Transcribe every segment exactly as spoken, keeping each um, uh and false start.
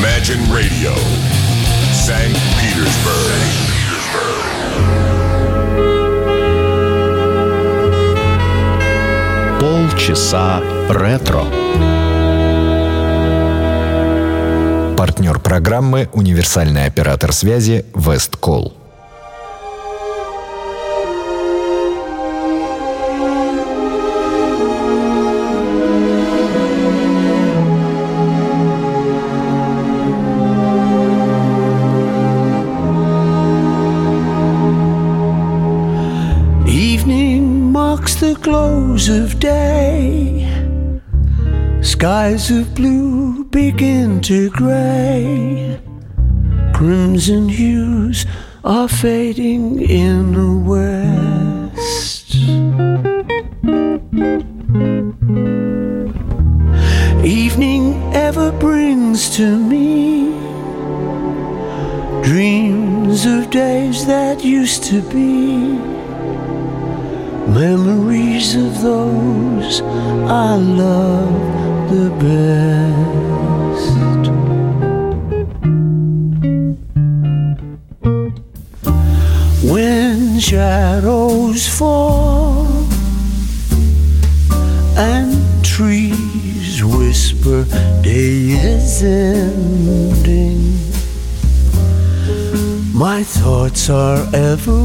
Imagine Radio, Санкт Петербург. Полчаса ретро. Партнер программы — универсальный оператор связи Весткол. The close of day, skies of blue begin to gray, crimson hues are fading in the west. Evening ever brings to me dreams of days that used to be, memories of those I love the best. When shadows fall and trees whisper day is ending, my thoughts are ever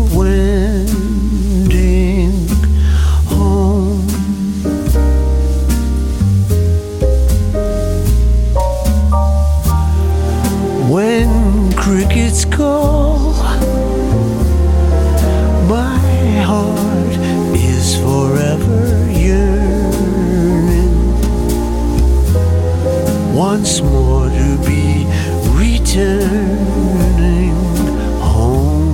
wending home. When crickets call, my heart is forever yearning once more to be returning home.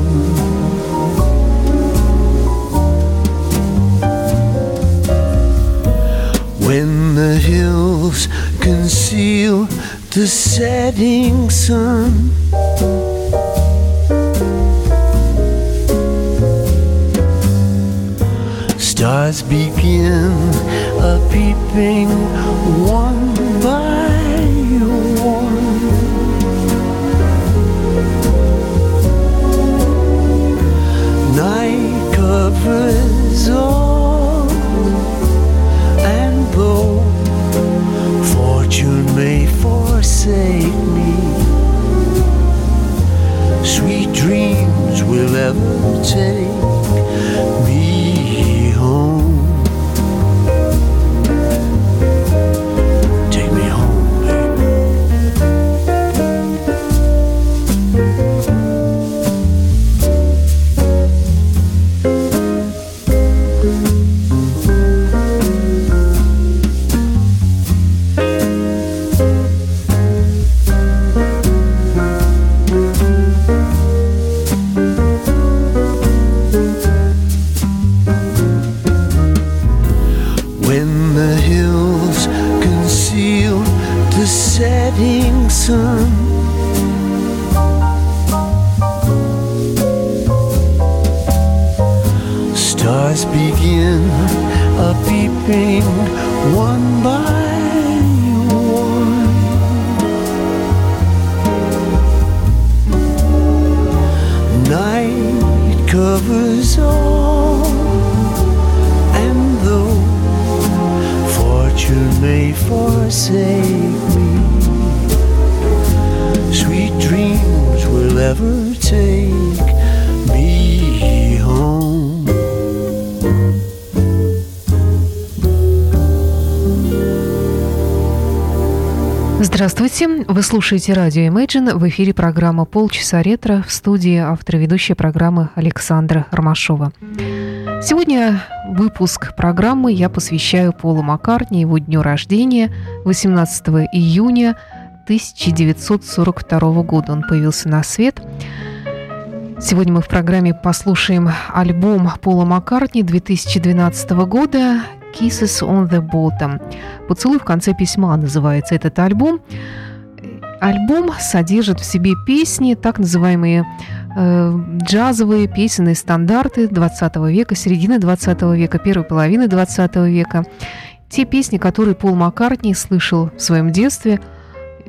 When the hills conceal the setting sun, stars begin a peeping one by one. Night covers all, and though fortune may forsake me, sweet dreams will ever take me home. Take me home, baby. Setting sun, stars begin a peeping one by one. Night covers all, and though fortune may forsake me, sweet dreams will ever take me home. Здравствуйте! Вы слушаете радио Imagine. В эфире программа «Полчаса ретро», в студии автор и ведущая программы Александра Ромашова. Сегодня выпуск программы я посвящаю Полу Маккартни, его дню рождения, восемнадцатого июня тысяча девятьсот сорок второго года. Он появился на свет. Сегодня мы в программе послушаем альбом Пола Маккартни две тысячи двенадцатого года «Kisses on the Bottom». «Поцелуй в конце письма» называется этот альбом. Альбом содержит в себе песни, так называемые э, джазовые песенные стандарты двадцатого века, середины двадцатого века, первой половины двадцатого века. Те песни, которые Пол Маккартни слышал в своем детстве,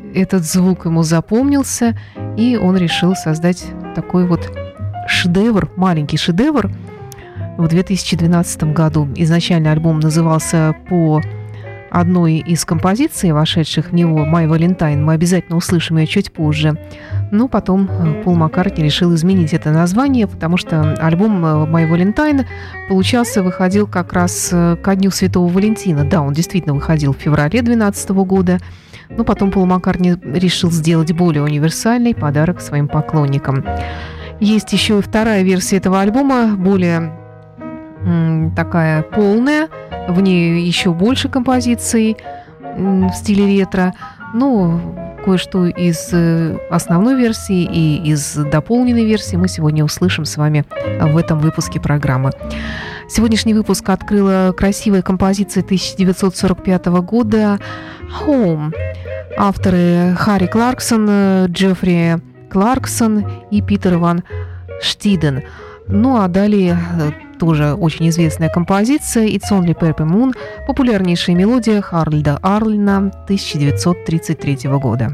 этот звук ему запомнился, и он решил создать такой вот шедевр, маленький шедевр в две тысячи двенадцатом году. Изначально альбом назывался по одной из композиций, вошедших в него, «My Valentine». Мы обязательно услышим ее чуть позже. Но потом Пол Маккартни решил изменить это название, потому что альбом «My Valentine» получался, выходил как раз ко Дню Святого Валентина. Да, он действительно выходил в феврале две тысячи двенадцатого года, но потом Пол Маккартни решил сделать более универсальный подарок своим поклонникам. Есть еще и вторая версия этого альбома, более м, такая полная, в ней еще больше композиций м, в стиле ретро. Ну, кое-что из основной версии и из дополненной версии мы сегодня услышим с вами в этом выпуске программы. Сегодняшний выпуск открыла красивая композиция тысяча девятьсот сорок пятого года «Home». Авторы Харри Кларксон, Джеффри Кларксон и Питер Ван Штиден. Ну а далее тоже очень известная композиция «It's Only Purple Moon», популярнейшая мелодия Харольда Арлина тысяча девятьсот тридцать третьего года.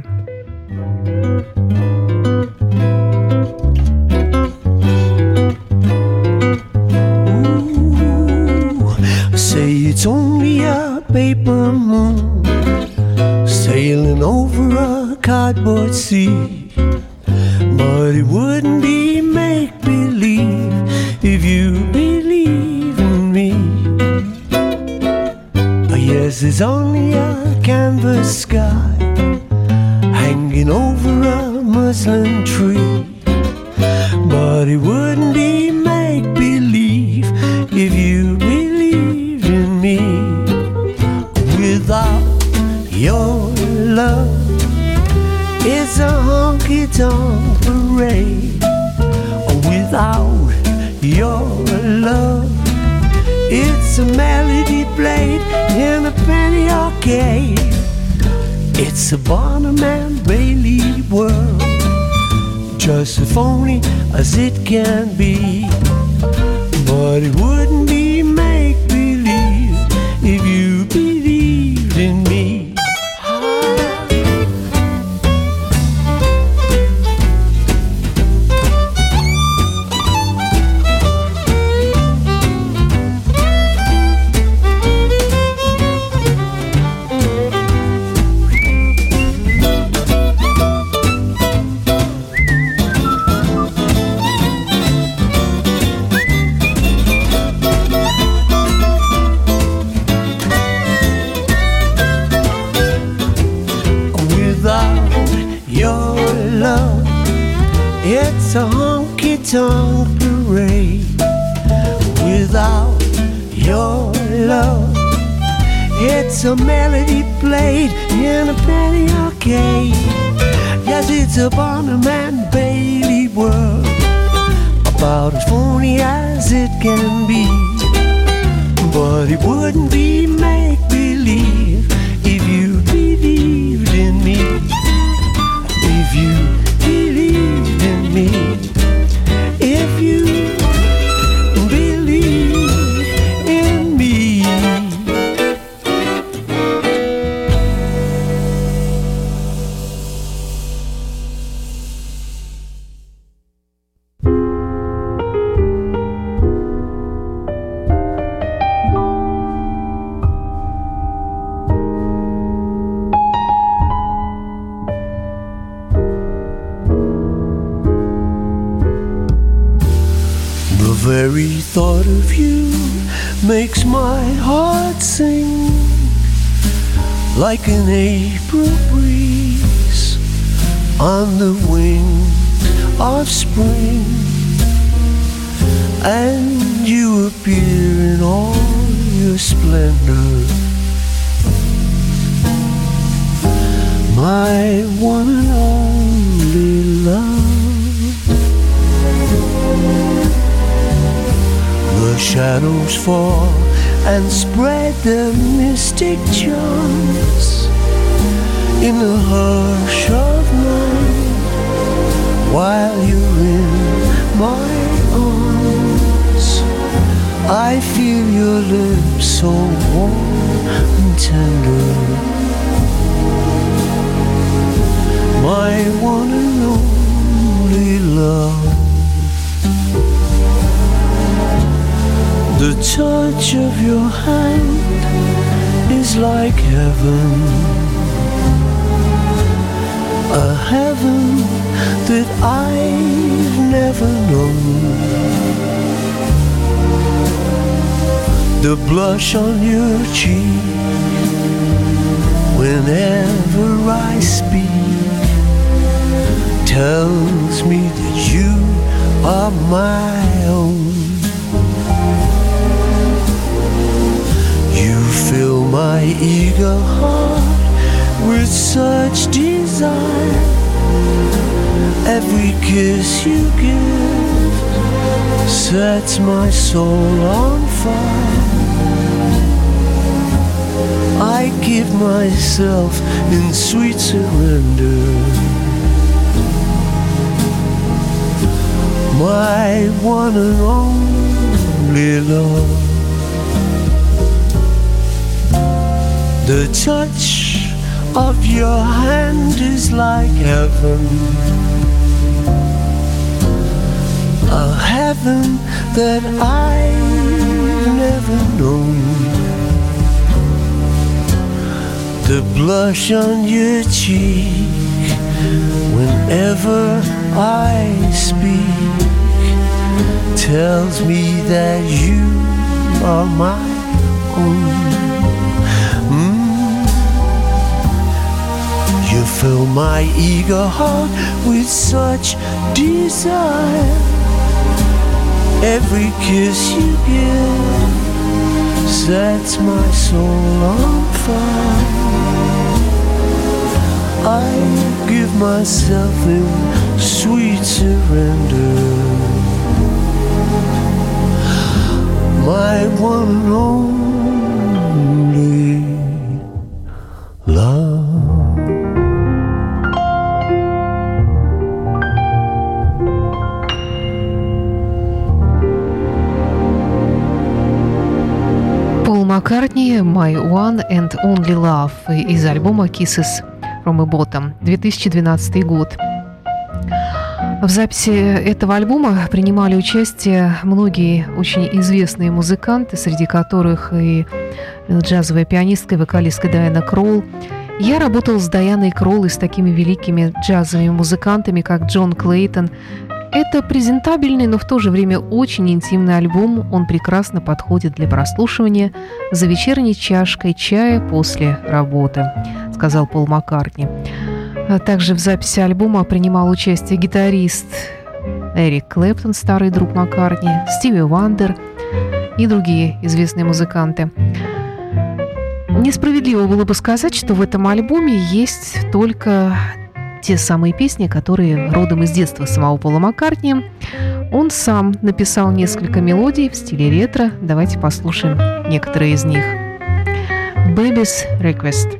Say it's only a paper moon sailing over a cardboard sea, but it wouldn't be make-believe if you believe in me. Yes, it's only a canvas sky hanging over a muslin tree, but it wouldn't be make-believe if you believed in me. Without your love, it's a honky-tonk parade. Without your love, it's a melody played in a penny arcade. It's a Barnum and Bailey world, just as phony as it can be. But it wouldn't be make-believe if you believed in me. It's a honky-tonk parade. Without your love, it's a melody played in a penny arcade. Yes, it's a Barnum and Bailey world, about as phony as it can be. But it wouldn't be make-believe if you believed in me. If you believed in me, if you believe in me. The very thought of you makes my heart sing like an April breeze on the wing of spring, and you appear in all your splendor, my one and only love. The shadows fall and spread their mystic charms in the hush of night, while you're in my arms. I feel your lips so warm and tender. one and only love. The touch of your hand is like heaven, a heaven that I've never known. The blush on your cheek whenever I speak tells me that you are my own. You fill my eager heart with such desire. Every kiss you give sets my soul on fire. I give myself in sweet surrender. My one and only love. The touch of your hand is like heaven, a heaven that I've never known. The blush on your cheek whenever I speak tells me that you are my own. Mm. You fill my eager heart with such desire. Every kiss you give sets my soul on fire. I give myself in sweet surrender. My one and only love. Пол Маккартни «My One and Only Love» из альбома «Kisses from a Bottom», две тысячи двенадцатый год. В записи этого альбома принимали участие многие очень известные музыканты, среди которых и джазовая пианистка и вокалистка Дайана Кролл. Я работал с Дайаной Кролл и с такими великими джазовыми музыкантами, как Джон Клейтон. Это презентабельный, но в то же время очень интимный альбом. Он прекрасно подходит для прослушивания за вечерней чашкой чая после работы, сказал Пол Маккартни. Также в записи альбома принимал участие гитарист Эрик Клэптон, старый друг Маккартни, Стиви Вандер и другие известные музыканты. Несправедливо было бы сказать, что в этом альбоме есть только те самые песни, которые родом из детства самого Пола Маккартни. Он сам написал несколько мелодий в стиле ретро. Давайте послушаем некоторые из них. Baby's Request.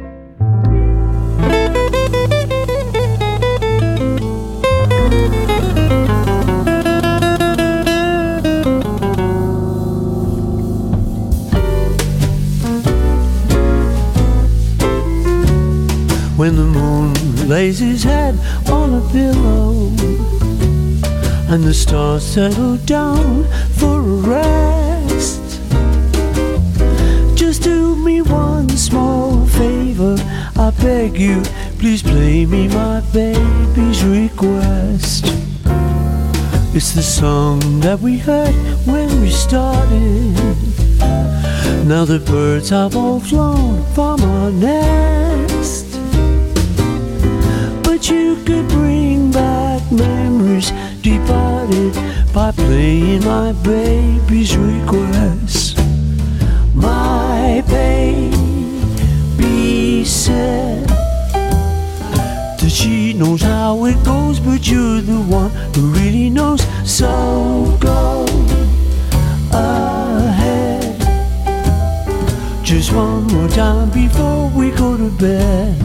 When the moon lays his head on a pillow and the stars settle down for a rest, just do me one small favor, I beg you, please play me my baby's request. It's the song that we heard when we started. Now the birds have all flown from our nest, but you could bring back memories departed by playing my baby's request. My baby said that she knows how it goes, but you're the one who really knows. So go ahead, just one more time before we go to bed.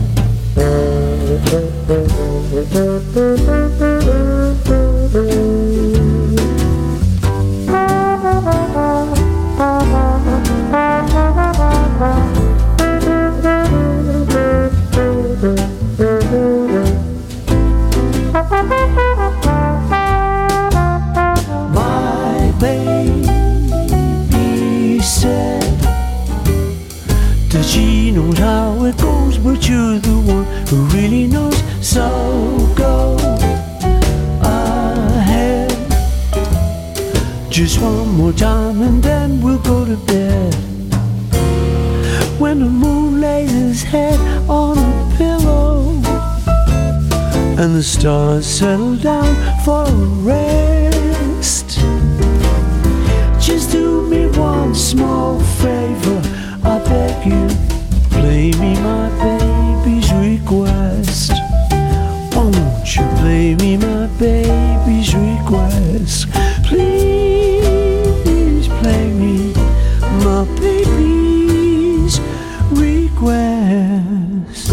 someone who really knows. So go ahead, just one more time and then we'll go to bed. When the moon lays his head on a pillow and the stars settle down for a rest, just do me one small favor, I beg you, play me my baby's request. Won't you play me my baby's request? Please play me my baby's request.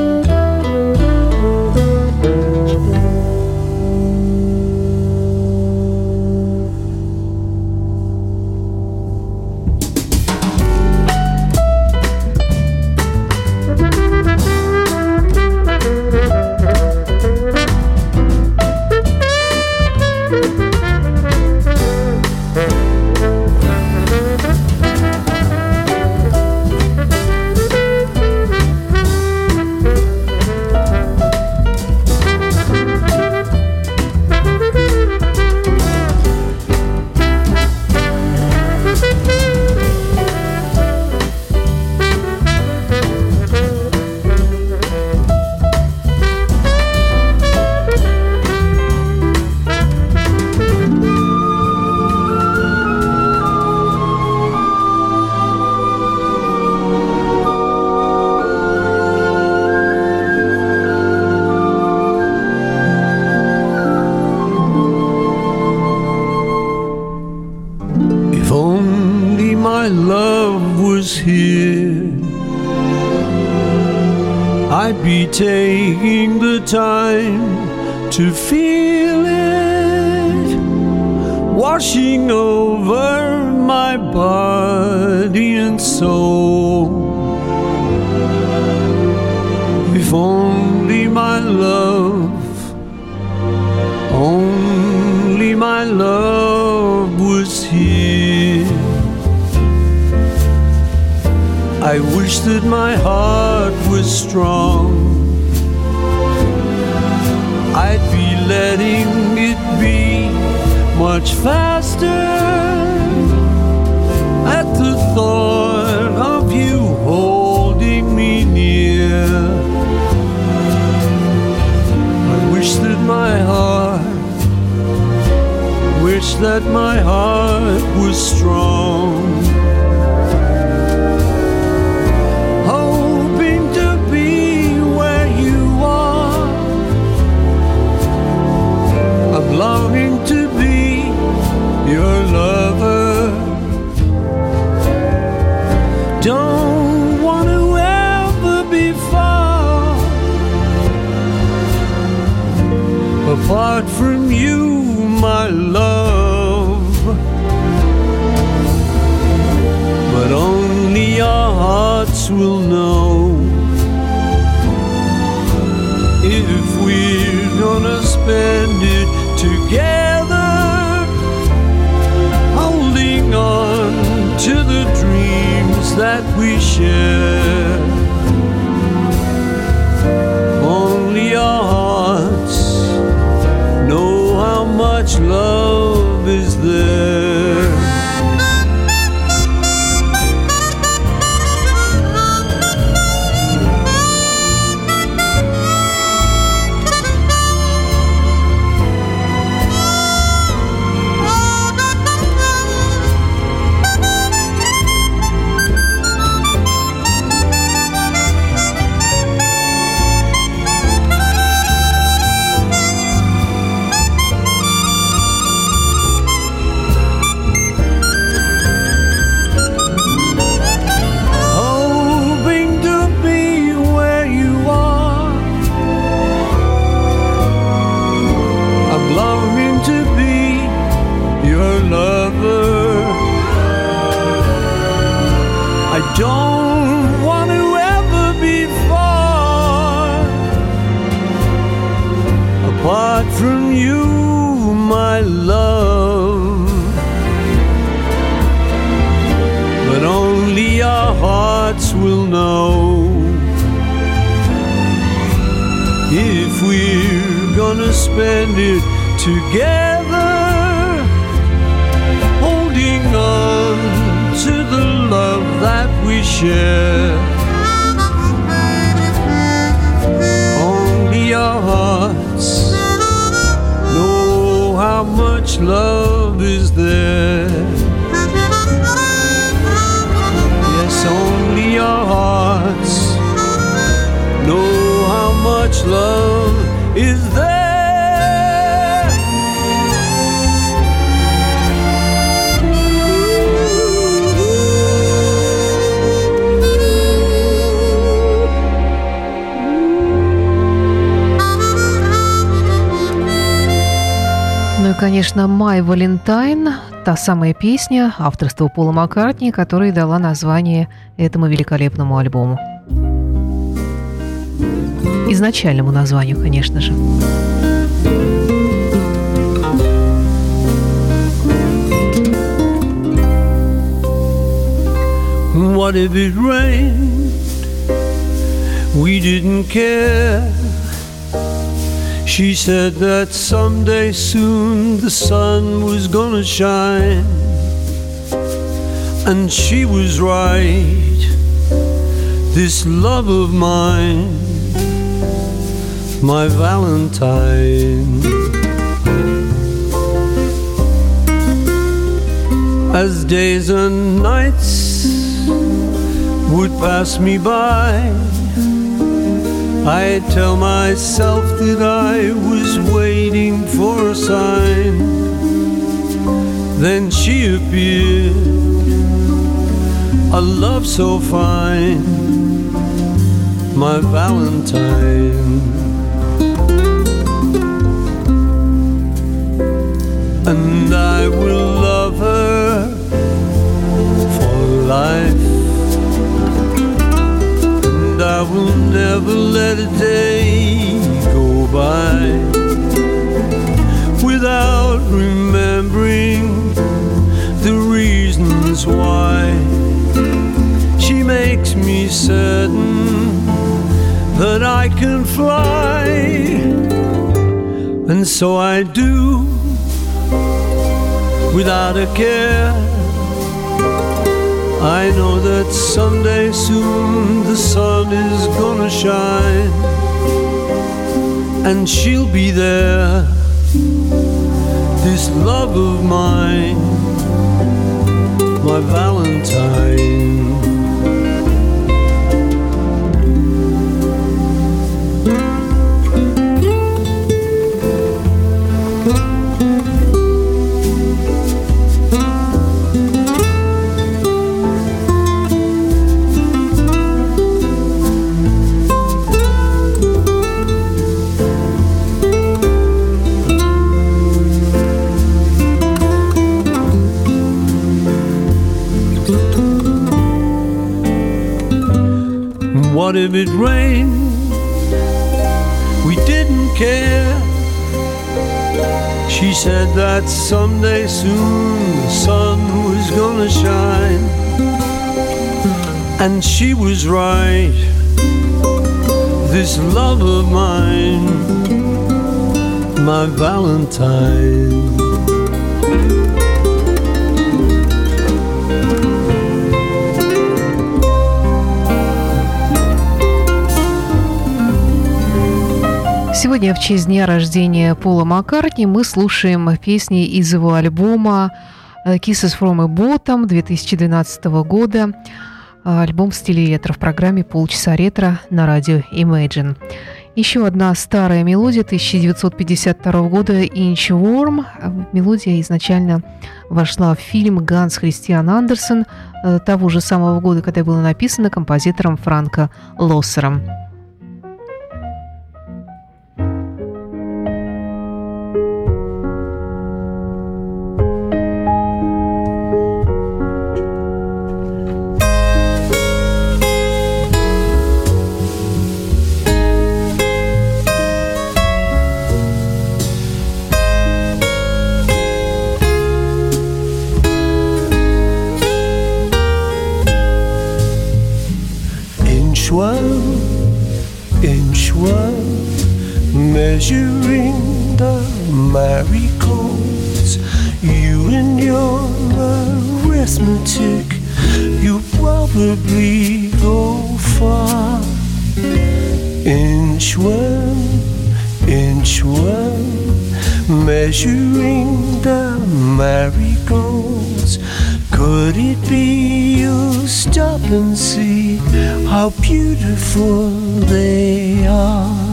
I'd be taking the time to feel it washing over my body and soul. If only my love, only my love was here. I wish that my heart was strong. I'd be letting it be much faster at the thought of you holding me near. I wish that my heart, wish that my heart was strong. Longing to be your lover. Don't want to ever be far apart from you, my love. But only our hearts will know if we're gonna spend it together, holding on to the dreams that we share. Only our hearts know how much love is there. Don't want to ever be far apart from you, my love. But only our hearts will know if we're gonna spend it together, holding on to the love that we share. Only our hearts know how much love is there. Yes, only our hearts know how much love is there. Ну и, конечно, «My Valentine», та самая песня авторства Пола Маккартни, которая дала название этому великолепному альбому. Изначальному названию, конечно же. What if it rained? We didn't care. She said that someday soon the sun was gonna shine. And she was right. This love of mine, my Valentine. As days and nights would pass me by, I tell myself that I was waiting for a sign. Then she appeared, a love so fine, my Valentine. And I will love her for life. I will never let a day go by without remembering the reasons why. She makes me certain that I can fly, and so I do without a care. I know that someday soon the sun is gonna shine, and she'll be there, this love of mine, my Valentine. What if it rained? We didn't care. She said that someday soon the sun was gonna shine, and she was right. This love of mine, my Valentine. Сегодня в честь дня рождения Пола Маккартни мы слушаем песни из его альбома «Kisses from a Bottom» две тысячи двенадцатого года. Альбом в стиле ретро в программе «Полчаса ретро» на радио Imagine. Еще одна старая мелодия тысяча девятьсот пятьдесят второго года «Inchworm». Мелодия изначально вошла в фильм «Ганс Христиан Андерсен» того же самого года, когда была написана композитором Франко Лоссером. Inchworm, inchworm, measuring the marigolds. You and your arithmetic, you probably go far. Inch one, inch one, measuring the marigolds. Could it be you'll stop and see how beautiful they are?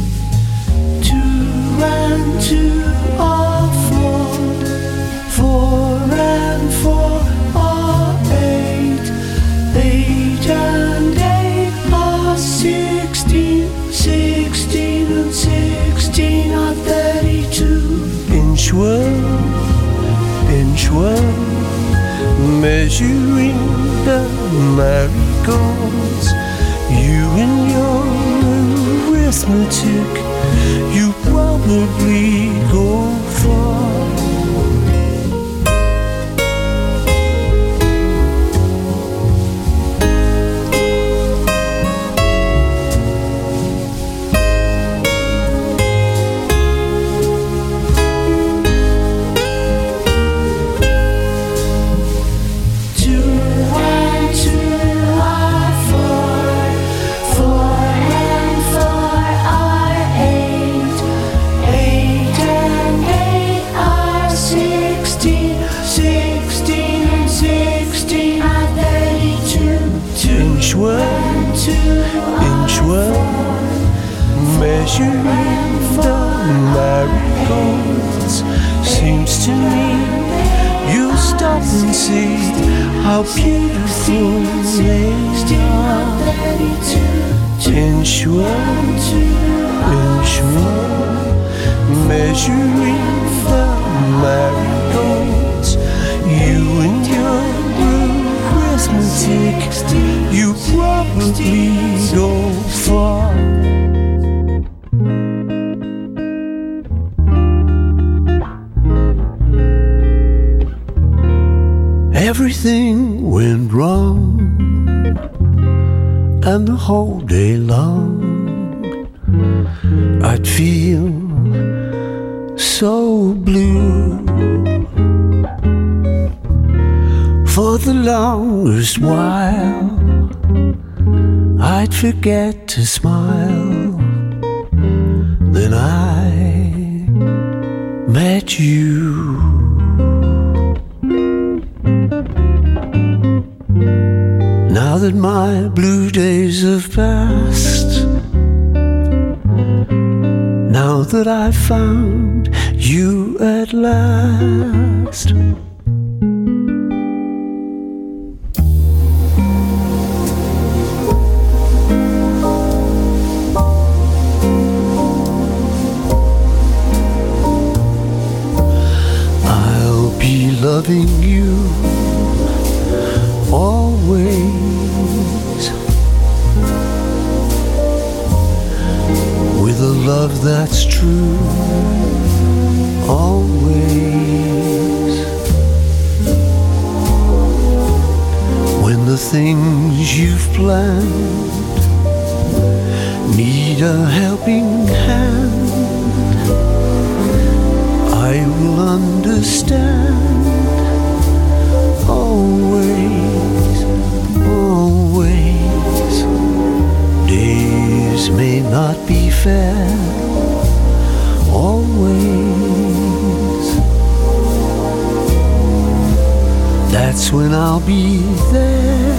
Two and two are four, four and four are eight, eight and eight are sixteen, sixteen and sixteen are thirty-two. Inch one, inch one, measuring the marigolds. You and your arithmetic, you probably go far. Measuring the marigolds. Seems to me you'll stop and see how beautiful they are. Inch one, inch one, measuring the marigolds. You and your arithmetic, you probably go far. Everything went wrong, and the whole day long I'd feel so blue. For the longest while I'd forget to smile. Then I met you. Now that my blue days have passed, now that I've found you at last, I'll be loving you always, with a love that's true, always. When the things you've planned need a helping hand, I will understand. Always, always. Days may not be fair, always. That's when I'll be there,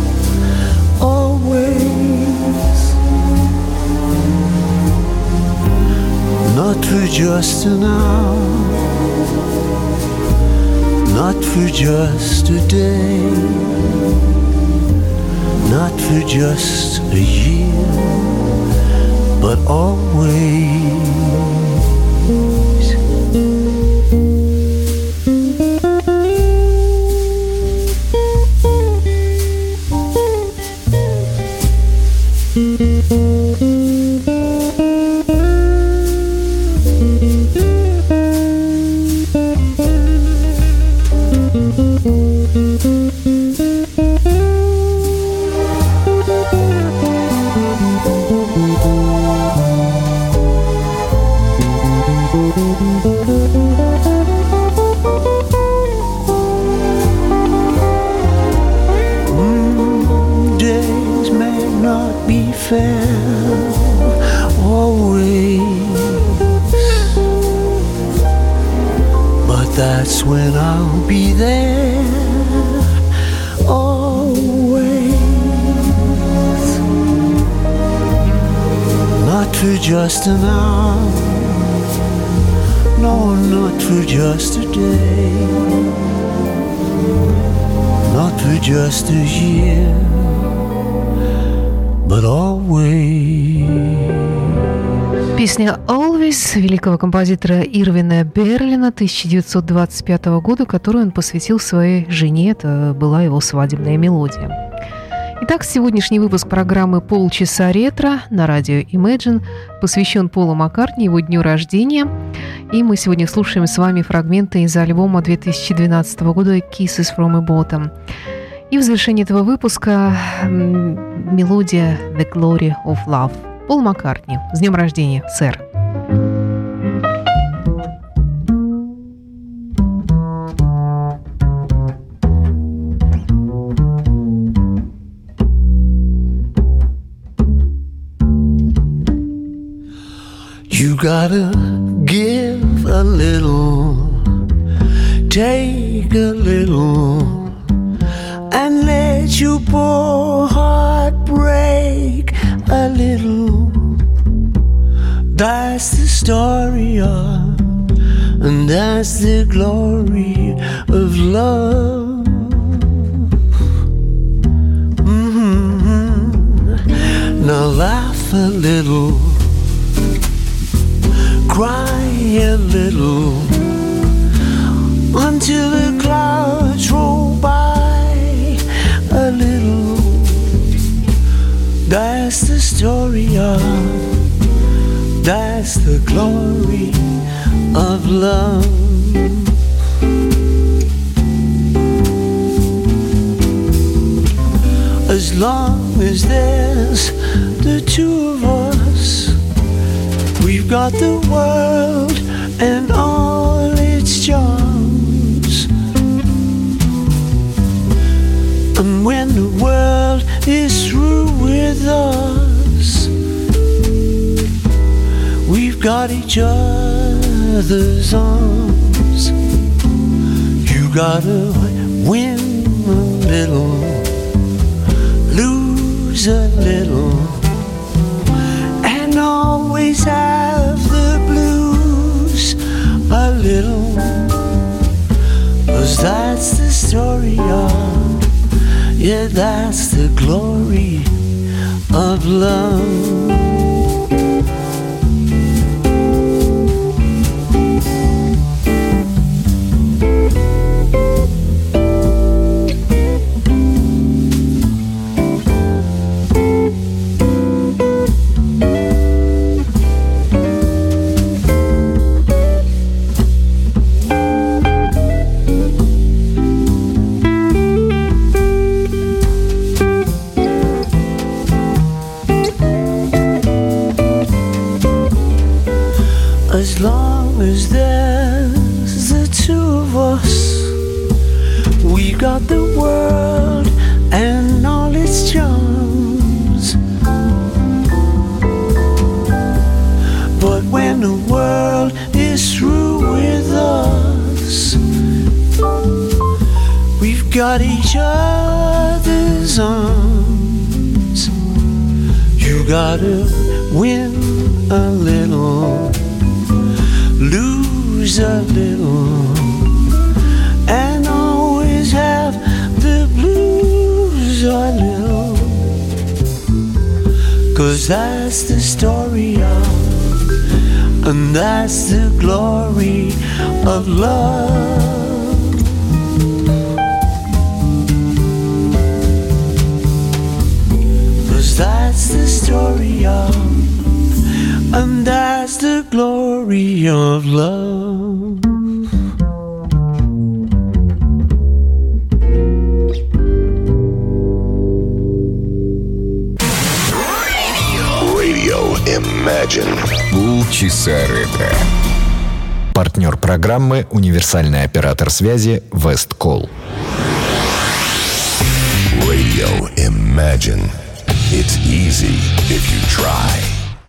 always. Not for just an hour, not for just a day, not for just a year, but always. that's when I'll be there always. Not for just an hour, no, not for just a day, not for just a year, but always. Песня «Always» великого композитора Ирвина Берлина тысяча девятьсот двадцать пятого года, которую он посвятил своей жене. Это была его свадебная мелодия. Итак, сегодняшний выпуск программы «Полчаса ретро» на радио Imagine посвящен Полу Маккартни, его дню рождения. И мы сегодня слушаем с вами фрагменты из альбома две тысячи двенадцатого года «Kisses from a Bottom». И в завершении этого выпуска мелодия «The Glory of Love». Пол Маккартни. С днем рождения, сэр! You gotta give a little, take a little, and let your poor heart break a little. That's the story of, and that's the glory of love. Mm-hmm. Now laugh a little, cry a little, until the clouds roll by a little. That's the story of, that's the glory of love. As long as there's the two of us, we've got the world and all its charms. And when the world is through with us, we've got each other's arms. You gotta win a little, lose a little, and always have the blues a little. 'Cause that's the story of, yeah, that's the glory of love. As long as there's the two of us, we got the world and all its charms. But when the world is through with us, we've got each other's arms. You gotta win a little, lose a little, and always have the blues a little. 'Cause that's the story of, and that's the glory of love. 'Cause that's the story of, and that's the glory of love. Radio Imagine. Полчаса ретро. Партнер программы — универсальный оператор связи Westcall. Radio Imagine. It's easy if you try.